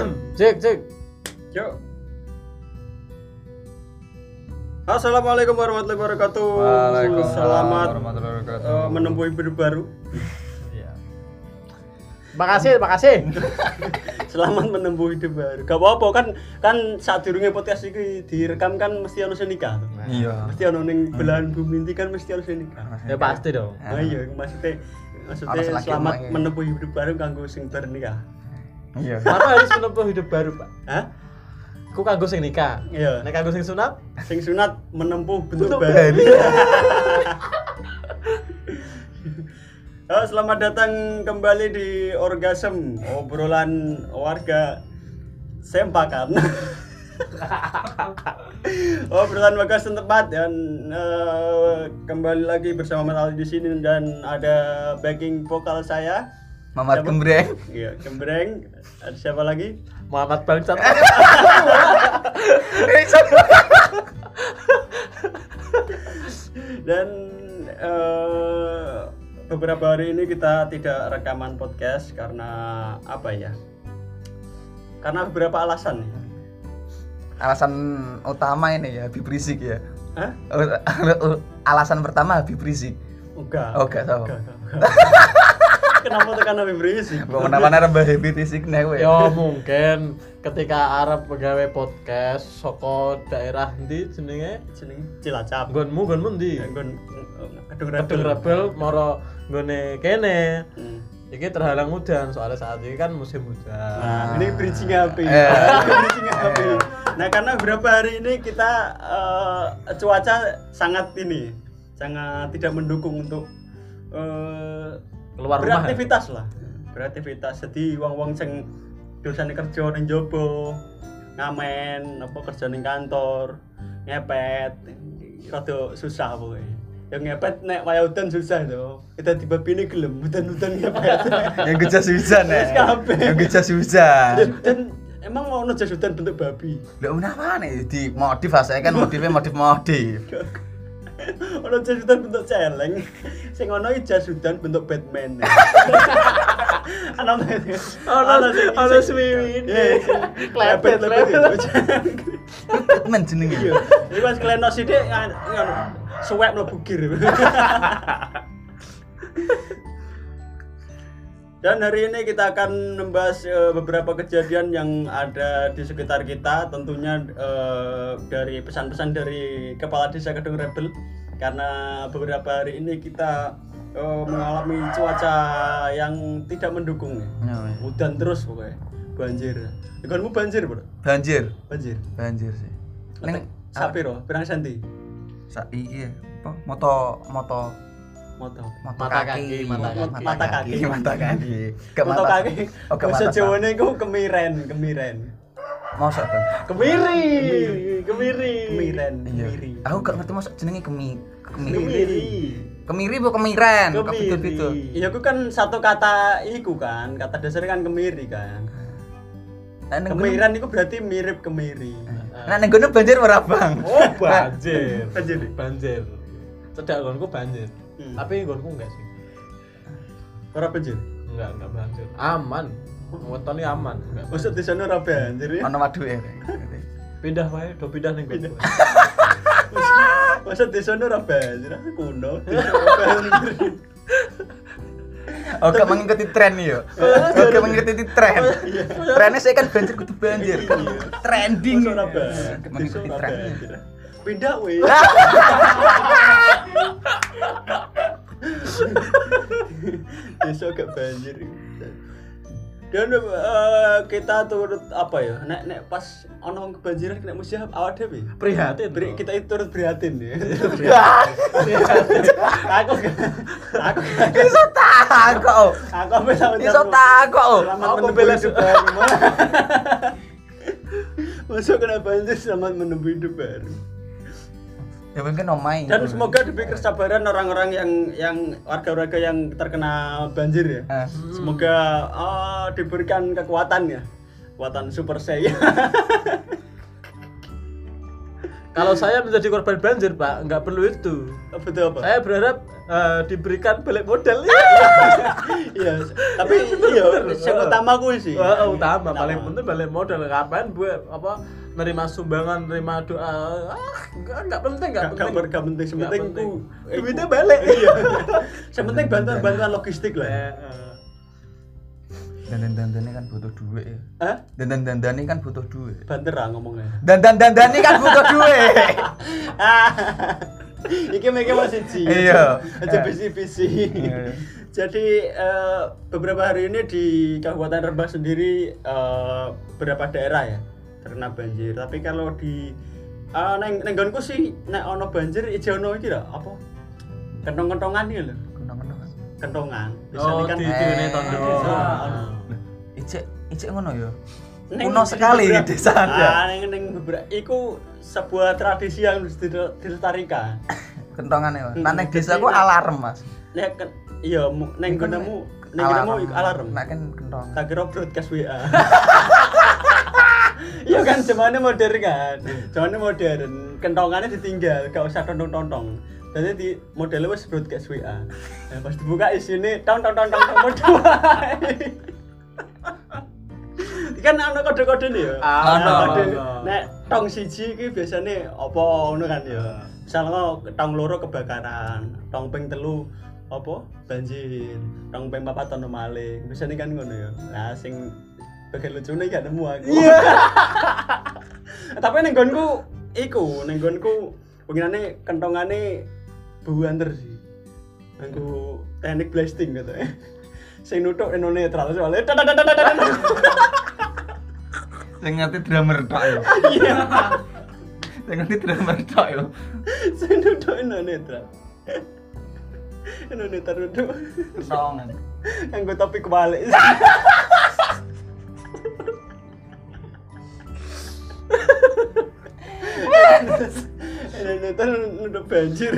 Cek. Yuk. Assalamualaikum warahmatullahi wabarakatuh. Waalaikumsalam Selamat warahmatullahi wabarakatuh. menempuh hidup baru. Iya. Makasih. Selamat menempuh hidup baru. Gak apa-apa kan saat durunge podcast iki direkam kan mesti ono sing nikah. Iya. Mesti ono ning belahan bumi ini kan mesti ono sing nikah. Ya pasti dong. Nah iya maksudnya Harus lagi selamat omongin. menempuh hidup baru kanggo sing bernikah. Iya. Kenapa harus menempuh hidup baru, Pak? Hah? Ku kanggo sing nikah. Iya. Nek kanggo sing sunat, Sing sunat menempuh bentuk Bentuk baru. Selamat datang kembali di Orgasm, obrolan warga sempakan. Obrolan warga setempat dan kembali lagi bersama Mas Ali di sini dan ada backing vokal saya. Mamat Siapa? Gembreng. Iya, Gembreng. Ada siapa lagi? Muhammad Bangsat. Dan beberapa hari ini kita tidak rekaman podcast karena apa ya? Karena beberapa alasan. Alasan utama ini ya, Habib Rizik ya. Hah? Alasan pertama Habib Rizik. Enggak. Oh, enggak tahu. Enggak. Kenapa tekan Habib Rizik? Gua menapa Mbah Habib Rizik nek kowe. Ya mungkin ketika Arab pegawai podcast saka daerah ndi jenenge? Jeneng Cilacap. Nggonmu ndi? Nggon Kedung Kedung Rebel moro nggone kene. Hmm. Iki terhalang udan soalnya saat ini kan musim hujan. Nah, ini bridging HP. Bridging HP. Nah, karena beberapa hari ini kita cuaca sangat tidak mendukung untuk Keluar rumah. beraktivitas lah. Beraktivitas. Jadi wong-wong sing dosane kerja ning njaba, ngamen, apa kerja ning kantor, ngepet, rada susah pokoke. Yang ngepet nek waya udan susah to. Kita tiba bini gelem udan-udan ngepet. Yang gejas hujan ya. Wis kabeh. Yang gejas hujan. Dan emang mau ono jas hujan bentuk babi. Lah menapa nek di modif saya kan modifnya modif. Ono jas hujan bentuk celeng. Sing ono iki jas hujan bentuk Batman. Ono swiwi. Klepet. Batman jenenge. Iya. Iki pas kleno sithik suwek mlebu gir. Dan hari ini kita akan membahas beberapa kejadian yang ada di sekitar kita, tentunya dari pesan-pesan dari Kepala Desa Kedung Rebel, karena beberapa hari ini kita mengalami cuaca yang tidak mendukung. Udan terus pokoknya, banjir. Ikanmu banjir, Bro? Banjir sih. Neng sapiro, pirang senti? Iki apa? Moto Moto. Mata kaki. Mata kaki. Gak Moto mata kaki. Oh, ke Bahasa mata. Jawane iku kemiren. Mosok kan? Kemiri. Kemiren. Iya. Kemiri. Aku gak ngerti mosok jenenge kemiri. Kemiri. Bu kemiren, kok Kemiri. betul-betul. Iya, aku kan satu kata iku kan, kata dasarnya kan kemiri kan. Kemiren itu berarti mirip kemiri. Nah, ning kono banjir ora, Bang? Oh, banjir. Banjir. Cedak nggonku banjir. Hmm. Tapi nggonku enggak sih. Ora banjir. Enggak banjir. Aman. Wetone aman. Enggak. Maksud di sana ora banjir ya? Ono waduke. Pindah wae, do pindah ning nggonku. Maksud di sana ora banjir, kuno. Desa ora banjir. Oke, mengikuti tren yo. Oke, mengikuti tren. Trennya saya kan banjir kudu banjir. Kan trending. Maksud ora banjir. Mengikuti Desa ora tren. banjir. Pindah weh. Desa gak banjir. Dan kita turut apa ya? Nek pas ono kebanjiran kena musibah awak dhewe. Prihatin. Kita itu turut prihatin ya. Aku Iso takok. aku sampe sama Iso takok. Selamat Aku menempuh bela hidup baru. Masuk kena banjir, selamat menempuh hidup baru. Ya mungkin omai. Dan semoga diberi kesabaran orang-orang yang warga-warga yang terkena banjir ya. Semoga diberikan kekuatan ya. Kekuatan super saya. Kalau saya menjadi korban banjir, Pak, nggak perlu itu. Betul apa? Saya berharap diberikan balik modal. Iya, tapi iya yang utama kuwi sih. Utama paling penting balik modal. Kapan buat apa nerima sumbangan, nerima doa. Enggak penting, enggak penting. Sementing ku duitnya balik. Iya. Sementing bantuan logistik lah. Dandan-dandane kan butuh duit ya. Hah? Dandan-dandane kan butuh duit. Banter ah ngomongnya. Dandan-dandane kan butuh duit. Iki masih siji. Iya. Aja bisi-bisi. Jadi beberapa hari ini di Kabupaten Rembang sendiri beberapa daerah ya terkena banjir. Tapi kalau di neng nggonku sih nek ono banjir ijo ono iki lho apa? Kentong-kentongan iki lho. Kentongan. Oh, kan di dene tondo. Icek ngono ya. Kuno sekali di desa Anda. Ning beberapa iku sebuah tradisi yang harus dilestarikan. Kentongan ya. Nah ning desaku alarm, Mas. Nek iya ning gunemu iku alarm. Nek kan kentong. Tak kira broadcast WA. Iya kan zamane modern kan. Zamane modern, kentongannya ditinggal, gak usah tontong-tontong. Jadi di modelnya wis broadcast WA. Nah, pas dibuka isine tong modul. Kan ana kode-kode nih ya. Kode. Nek tong siji iki biasane apa ngono kan ya. Misalnya tong loro kebakaran, tong ping telu apa banjir, tong ping papat ono maling. Biasane kan ngono ya. Nah sing bagian lucune gak nemu aku. Iya. Tapi ning nggonku iku, ning nggonku penginane kentongane buanter sih. Nggo teknik blasting gitu ya. Sing nuthuk eno netral soalnya. Sing ngerti drummer tok yo. Iya. Sing ngerti drummer tok yo. Sing nuthuk eno netral. Eno netral nuthuk. Kentongan. Nggo topi kebalik. Eno netral nuthuk banjir.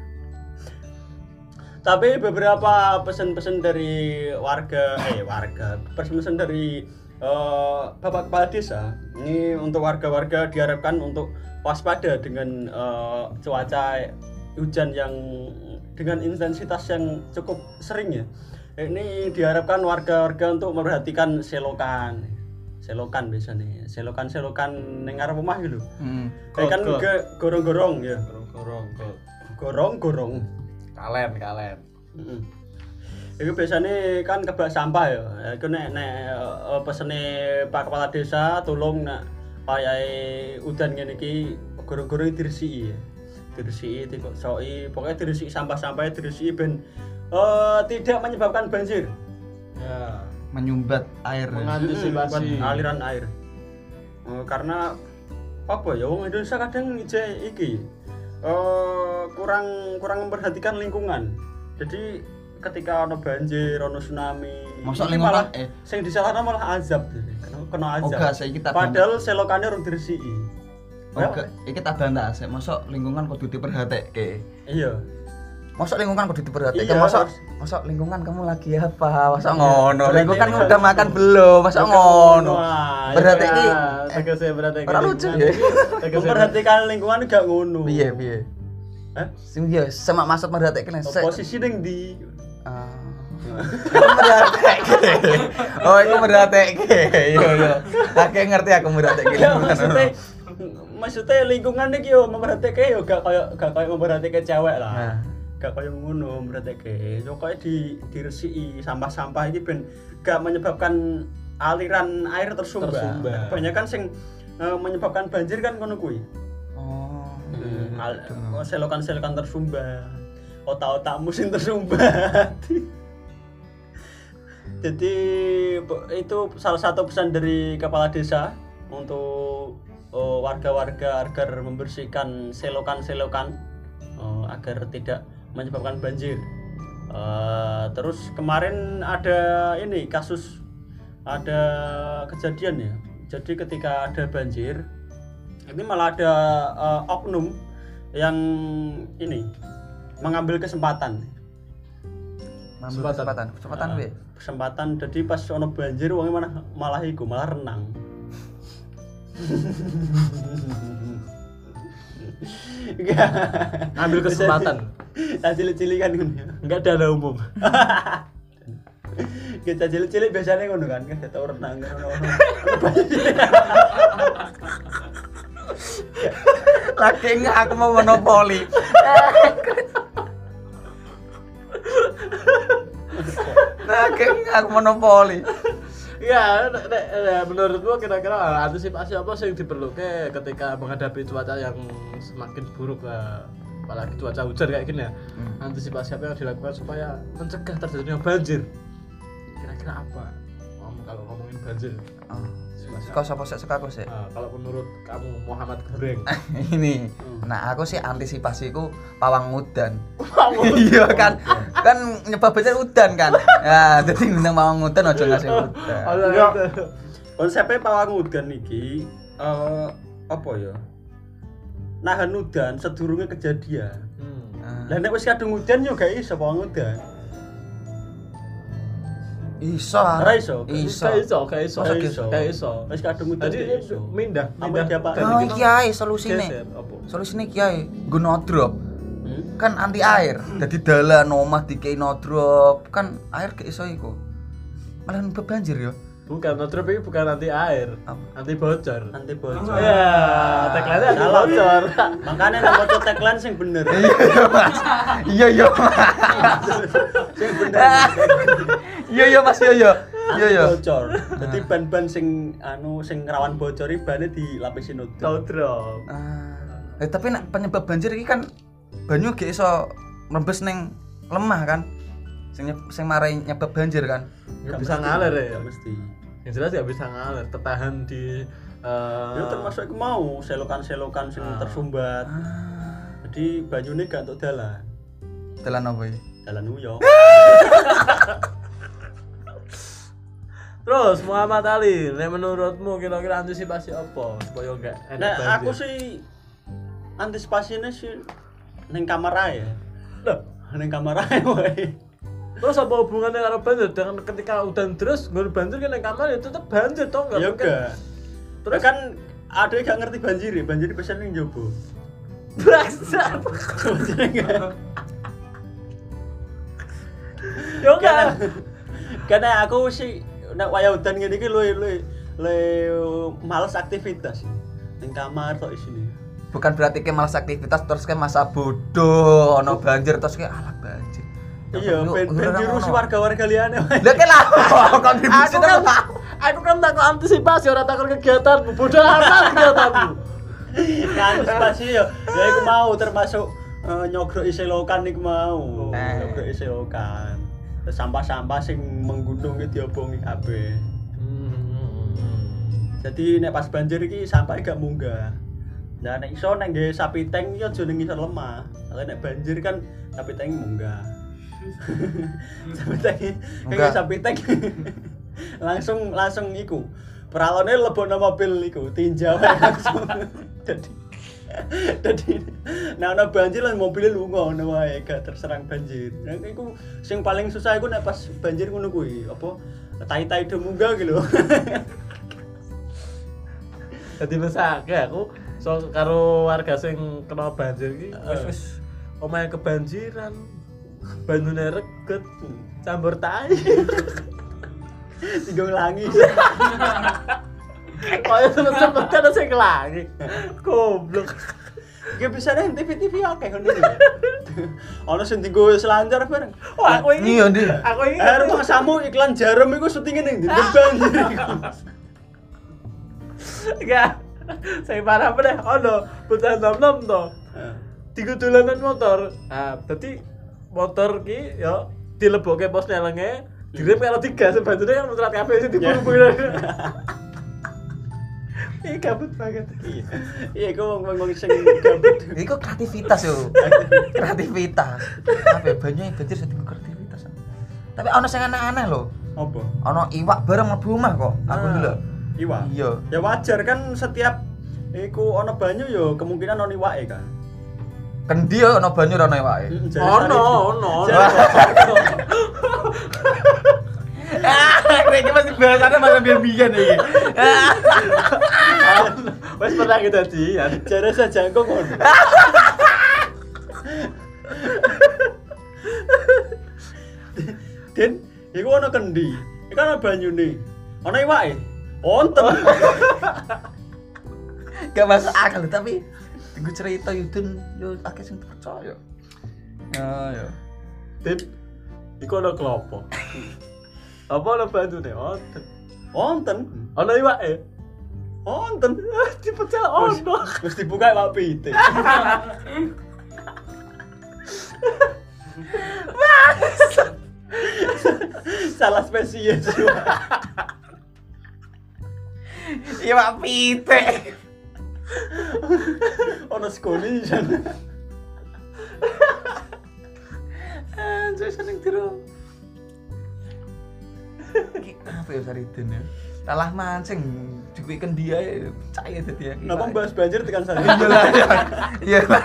Tapi beberapa pesan-pesan dari warga, pesan-pesan dari Bapak Kepala Desa ini untuk warga-warga diharapkan untuk waspada dengan cuaca hujan yang dengan intensitas yang cukup sering ya. Ini diharapkan warga-warga untuk memperhatikan selokan biasanya, selokan ning ngarep omah gitu. Kan gorong-gorong ya. Gorong-gorong. Kalen. Itu biasanya kan kebak sampah ya. Itu nek pesene Pak Kepala Desa tolong nek payahe udan ngene iki gorong-gorong diresiki ya. Diresiki dikosoki, pokoknya diresiki sampah-sampahnya diresiki ben tidak menyebabkan banjir. Ya, Menyumbat air. mengantisipasi aliran air. Karena apa ya wong Indonesia kadang iki kurang memperhatikan lingkungan. Jadi ketika ono banjir, ono tsunami, Mosok ini lingkungan malah sing disalahno malah azab. Kena azab. Oga saiki tak Padahal selokane urung diresiki. Oga, iki tak bantah sik. Mosok lingkungan kudu diperhatike. Iya. Mosok lingkungan kudu diperhatike. Iya, Mosok lingkungan kamu lagi apa? Mosok ngono. Lingkungan udah makan belum? Mosok ngono. Berarti tegese berarti ora lucu ya. Memperhatikan lingkungan gak ngono. Piye? Hah? Sing ya semak masuk merhatike nek Posisi ning ndi? Oh, iku merhatike. Iya. Aku ngerti aku merhatike. Maksudnya lingkungan iki yo memperhatike yo gak koyo memperhatike cewek lah. Gak koyo ngono memperhatike. Yo koyo diresiki sampah-sampah iki ben gak menyebabkan aliran air tersumbat. Kebanyakan sing menyebabkan banjir kan ngono kuwi. Selokan-selokan tersumbat, otak-otakmu sing tersumbat. Jadi itu salah satu pesan dari Kepala Desa untuk warga-warga agar membersihkan selokan-selokan agar tidak menyebabkan banjir. Terus kemarin ada ada kejadian ya. Jadi ketika ada banjir, ini malah ada oknum yang mengambil kesempatan. Kesempatan. Jadi pas ono banjir wonge malah renang. Enggak. Ambil kesempatan. Tak cilik-cilik kan ngono. Enggak dana umum. Kita cilik-cilik biasanya ngono kan, kita tau renang ngono. Lagi enggak aku mau monopoli. Lagi enggak aku monopoli. Ya, menurutmu kira-kira antisipasi apa sih yang diperlukan ketika menghadapi cuaca yang semakin buruk, apalagi cuaca hujan kayak gini ya? Antisipasi apa yang dilakukan supaya mencegah terjadinya banjir? Kira-kira apa? Kalau ngomongin banjir, Kau sapa sik suka aku sik. kalau menurut kamu Muhammad Goreng, Ini. Nah, aku sih antisipasiku pawang udan. Iya kan. Kan nyebab banjir udan kan. Ya, dadi nang pawang udan aja ngasih udan. Enggak. Konsepnya pawang udan iki apa ya? Nahan udan sedurunge kejadian. Lah nek wis kadung udan yo gak iso pawang udan. Iso. Ora iso. Kayak iso. Wis kadung udan Jadi iso. mindah Apa Oh, iki ae solusine. geser, apa? Solusine iki ae, nggo no drop. Kan anti air. Dadi dalan omah dikei no drop, kan air gak iso iku. Malah banjir ya. Bukan, no drop ini bukan anti air, anti bocor. Anti bocor. Ya, tagline anti Salah. bocor. Makanya nang maca tagline sing bener. Iya, Mas. Iya, Mas. Sing bener. Iya, Mas. Iya. Anti bocor. Dadi ban-ban sing sing rawan bocor iki bane dilapisi no No drop. Tapi nek penyebab banjir iki kan banyu gak iso nembes ning lemah kan. Sing marai nyebab banjir kan. Gak bisa ngalir ya. Gak mesti. Yang jelas gak bisa ngalir, tertahan di Ya termasuk iku mau selokan-selokan sing tersumbat. Jadi banyune gak entuk dalan. Dalan apa iki? Dalan uyok. Terus Muhammad Ali, menurutmu kira-kira antisipasi apa supaya enggak enak Nah, banjir? aku sih antisipasinya sih ning kamar ae. Loh, Ning kamar ae wae. terus apa hubungannya karo banjir? Dengan ketika udan terus nggak banjir kan yang kamar ya tetap banjir toh nggak Ya mungkin. enggak. Terus kan ada yang gak ngerti banjir biasanya ning jobo. Bangsat. Banjir enggak. Yo enggak. Karena aku sih nek wayah udan ngene iki luwe males aktivitas. Ning kamar tok isine. Bukan berarti ke malas aktivitas terus ke masa bodoh ono banjir terus ke alah banjir. Iya, ben diurusi warga-warga liyane wae. Lah ke lah kontribusi Aku kan takut antisipasi orang takut kegiatanmu. Bodoh amat kegiatanmu. Antisipasi ya iku mau termasuk nyogrok selokan iku mau. Nyogrok selokan. Sampah-sampah sing menggunung iki diobongi kabeh. Jadi nek pas banjir iki sampah gak munggah. Nah nek iso nek nggawe sapi tank iki aja ning ngisor lemah. Kalau nek banjir kan sapi tank munggah. Sapi tank langsung iku. Peralone lebokno mobil iku tinjau langsung. Dadi nek ana banjir lan mobilnya lunga ngono wae gak terserang banjir. Nah iku sing paling susah iku nek pas banjir ngono kuwi apa tai-tai do munggah iki lho. Jadi mesake aku karo warga sing kena banjir iki wis omahe kebanjiran. Banyune reget, campur tai. Tiga ulangi. Kaya sempet kan sing kelangi. Goblok. Iki bisa nih TV akeh ngono iki. Ono sing dienggo selancar bareng. Oh, aku ini. Iya, Ndi. Aku ini. Rumah samu iklan jarum iku syutinge ning ndi? Banjir iku. Enggak. Saya parah meneh ono bocah nom-nom to. Tiga dolanan motor. Nah, dadi motor ki ya dilebokke pos nelenge, direm karo digas banjirnya kan muterat kabeh sing diburu-buru. Ih kabut banget. Iya, iku wong sing gabut. Iku kreativitas yo. Kreativitas. Apa banyu banjir jadi kreativitas. Tapi ono sing aneh-aneh lho. Apa? Ono iwak bareng mlebu omah kok. Aku ndelok. Iwak. Iya. Ya wajar kan setiap iku ono banyu ya kemungkinan ono iwake kan. Kendi yo ono banyu ono iwake. Ono. Iki masih bahasane masa biyen iki. Wes pernah kita sih, Jare saja kok ngono. Den, iku ana kendi. Iku ana banyune. Ana iwake. Wonten. Gak masuk akal tapi gue cerita Yudun yo akeh sing percaya. Ya. Dit, iku ana klopo. Apa ana banyune? Wonten. Wonten. Ana iwake. Wonten. Dipecah ono. Wis dibuka Pak Pitik. Salah spesies. Iya Pak Pitik. Ono skoni jan. Anjir seneng tiru. Iki apa ya Saridin ya? Kalah mancing dikuiken dia ya percaya dadi ya. Napa bahas banjir tekan sana? Iya lah. Iya lah.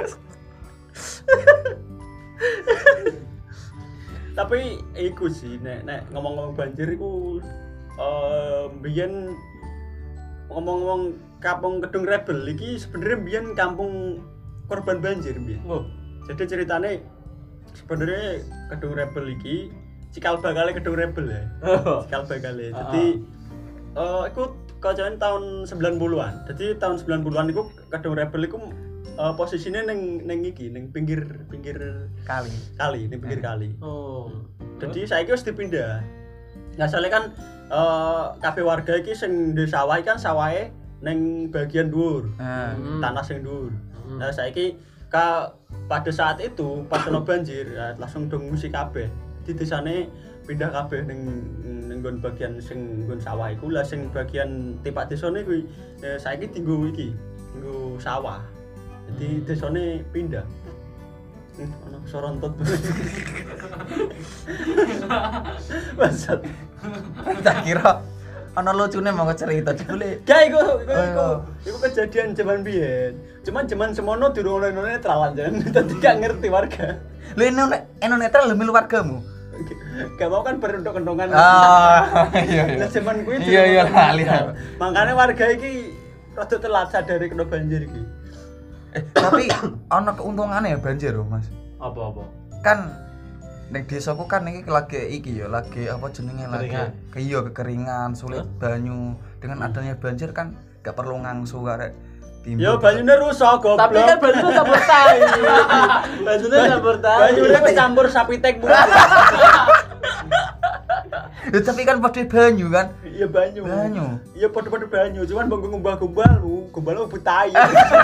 Tapi iku sih nek ngomong-ngomong banjir iku mbiyen ngomong-ngomong Kampung Kedung Rebel iki sebenarnya mbiyen kampung korban banjir mbiyen. Oh, Jadi ceritane sebenarnya Kedung Rebel iki cikal bakale Kedung Rebel ya. Cikal bakale. Jadi iku kacan tahun 90-an. Jadi tahun 90-an iku Kedung Rebel iku posisinya neng iki neng pinggir Kali. ning pinggir kali. oh. Jadi saiki wis dipindah. Nah, soalnya kan kabeh warga iki sing duwe sawah kan sawahe ning bagian dhuwur. Tanah sing dhuwur. Nah, saiki pada saat itu pas ono banjir langsung dong ngungsi kabeh. Di desane pindah kabeh ning nggon bagian sing nggon sawah iku lah sing bagian tipak desane kuwi saiki tinggo iki, tinggo sawah. Jadi desane pindah. Ono sorontot. Bangsat. Tak kira ana lucune monggo cerita jebule. Gak iku kejadian zaman biyen. Cuman zaman semono durung ono netral jan. Dadi gak ngerti warga. Lho eno netral lho milu wargamu. Gak mau kan berunduk-undungan. Iya. Lah zaman kuwi Iya lali. Makane warga iki rada telat sadari kena banjir iki. Tapi ana keuntungane ya banjir lho, Mas. Apa-apa? Kan ning desaku kan iki lagi apa jenenge lagi kekeringan, sulit banyu. Dengan adanya banjir kan gak perlu ngangsu karek timbul. Ya banyune rusak goblok. Tapi kan banyune campur tai. Banyune campur tai. Banyune kecampur sapi tek murah. Tapi kan padha banyu kan. Iya banyu. Iya padha-padha banyu, cuman mbok ngumbah-gumbal, gumbal mbok tai.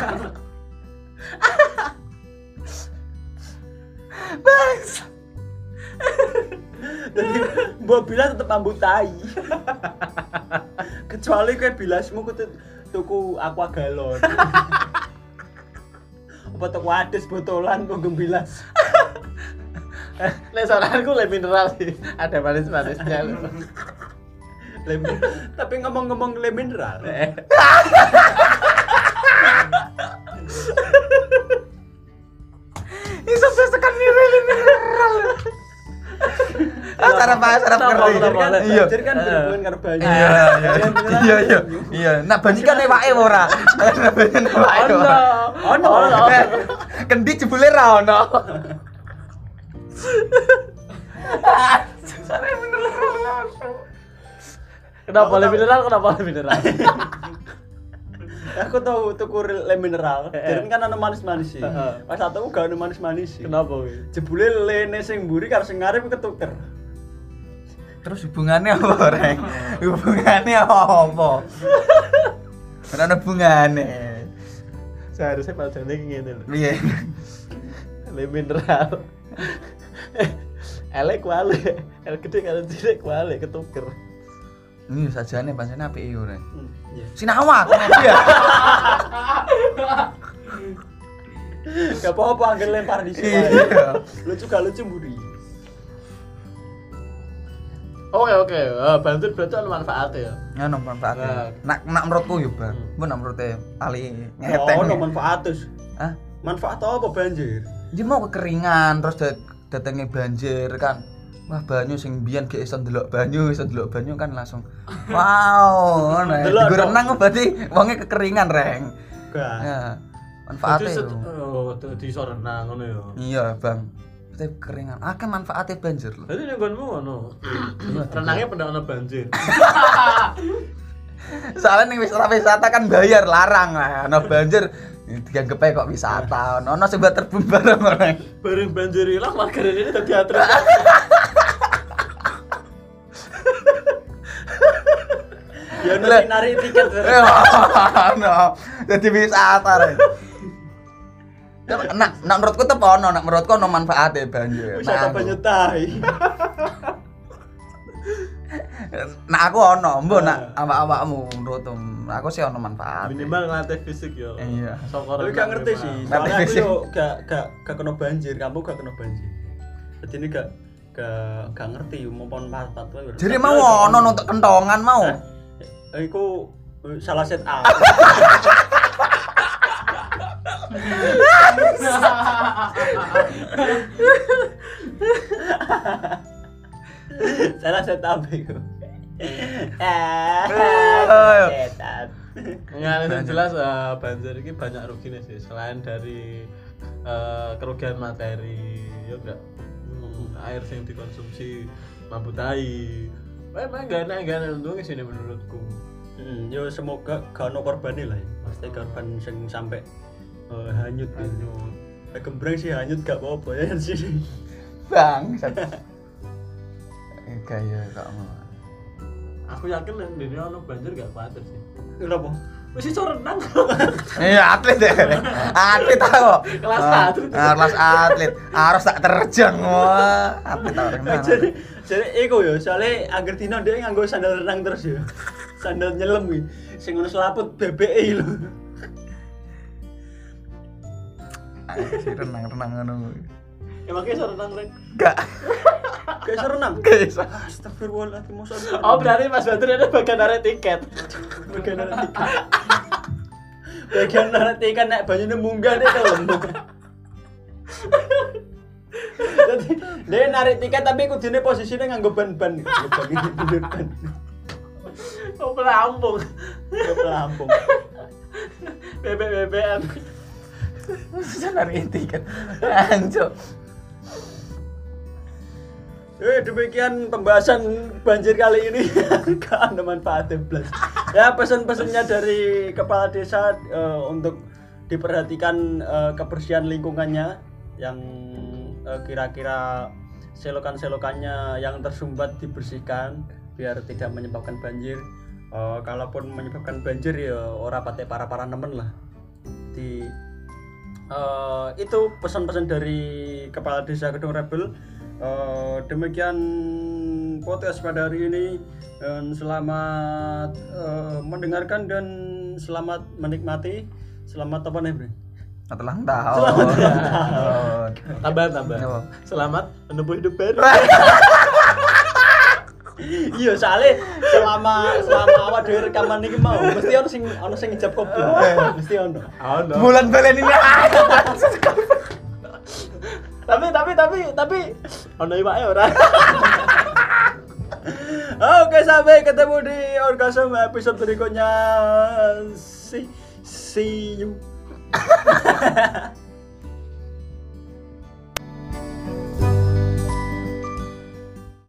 Bas. Jadi mbok bilas tetep ambut tai. Kecuali kowe bilasmu tuku aqua galon. Apa tuku adus botolan kok bilas. Nek saranku le mineral sih. Ada manis-manisnya. Tapi ngomong-ngomong le mineral. Ini sampai sekan le mineral. Sarap kering. Banjir kan berhubungan karo banyu. Iya. Nak banyu kan ewake ora. Ono. Kendi jebule ra ono. Sarap mineral. Kenapa le mineral? Aku tahu tuku le mineral. Jadi kan ana manis-manis sih. Pas aku gak ana manis-manis sih. Kenapa kuwi? Jebule lene sing mburi karo sing ngarep ketuker. Terus hubungannya apa, Reng? Hubungannya apa? Ora ana hubungane. Seharusnya padane ngene lho. Piye? Le mineral. Elek wale. El gede karo cilik wale ketuker. Ini sajane pancene apik yo, Reng. Iya. Sinawa kok ya. Gak apa-apa angger lempar di sini. Iya. Lucu mburi. Oke. Banjir berarti ada manfaatnya ya. Ya ono manfaate. Nak menurutku yo, Bang. Mbok nak menurute ali ngeteng. Ono manfaat terus. Hah? Manfaat apa banjir? Dia mau kekeringan terus datangnya banjir kan. wah banyu sing biyen gak iso ndelok banyu kan langsung wow ngono ya. Delok, Digo renang berarti wonge kekeringan reng. Gak. Ya. Manfaatnya Jadi yo. di iso renang ngono ya. Iya, Bang. Berarti kekeringan. Akeh manfaatnya banjir lho. Jadi ning nggonmu ngono. Renangnya pendak ono banjir. Soalnya ning wisata kan bayar larang lah. Ono banjir dianggep ae kok wisata. Ono sing buat terbum bareng orang. Bareng banjir ilang margarin ini dadi atlet. Ya nanti narik tiket. Ono. Dadi wisata rek. Nak menurutku tetep ono, nak menurutku ono manfaatnya banjir. Wisata banyu tai. Nah aku ono, mbok nak awak-awakmu menurutmu. Aku sih ono manfaat. Minimal ngelatih fisik yo. Iya. Saka Tapi gak ngerti sih. Soalnya aku yo gak kena banjir, kamu gak kena banjir. Jadi ini gak ngerti mau manfaat wae. Jadi mau ono untuk kentongan mau. Iku salah set A. Salah set A iku. Setan. Enggak, yang jelas banjir ini banyak ruginya sih. Selain dari kerugian materi, ya enggak air yang dikonsumsi mampu tai. Memang enggak enak untungnya sih menurutku. Yo semoga gak ono korban lah ya. Pasti korban sing sampai hanyut. Gembreng sih hanyut gak apa-apa ya sih. Bang. Kayak kok mau. Aku yakin di dunia ono banjir gak khawatir sih. Kenapa? Wis iso renang. Iya atlet deh. Atlet aku. Kelas atlet. Kelas atlet. Harus tak terjang wah. Atlet tak renang. Jadi iku yo, soalnya angger dino dia nganggo sandal renang terus yo. Sandal nyelam kuwi. Sing ngono selaput BBE lho. Si renang ngono. Emang iso renang, Rek? Enggak. Gak iso renang. Gak iso. Astagfirullahaladzim. Oh, berarti Mas Badri ada bagian narik tiket. Bagian narik tiket. Bagian narik tiket nek banyune munggah deh to. Jadi dia narik tiket tapi kudune posisinya nganggo ban-ban. Ban. Oh, pelampung. Pelampung. BBM. Bisa narik tiket. Anjir. Demikian pembahasan banjir kali ini. Gak ada manfaatnya blas. Ya pesan-pesannya dari kepala desa untuk diperhatikan kebersihan lingkungannya yang kira-kira selokan-selokannya yang tersumbat dibersihkan biar tidak menyebabkan banjir. Kalaupun menyebabkan banjir ya ora pate para nemen lah. Itu pesan-pesan dari kepala desa Kedung Rebel. Demikian podcast pada hari ini dan selamat mendengarkan dan selamat menikmati. Selamat apa nih, Bre? Selamat ulang tahun. Tambah. Selamat menempuh hidup baru. Iya, soalnya selama awak dhewe rekaman iki mau mesti ono sing ngijab kopi. Mesti ono. Bulan balen ini. Tapi ono iwake ora. Oke, sampai ketemu di Orgasm episode berikutnya. See you.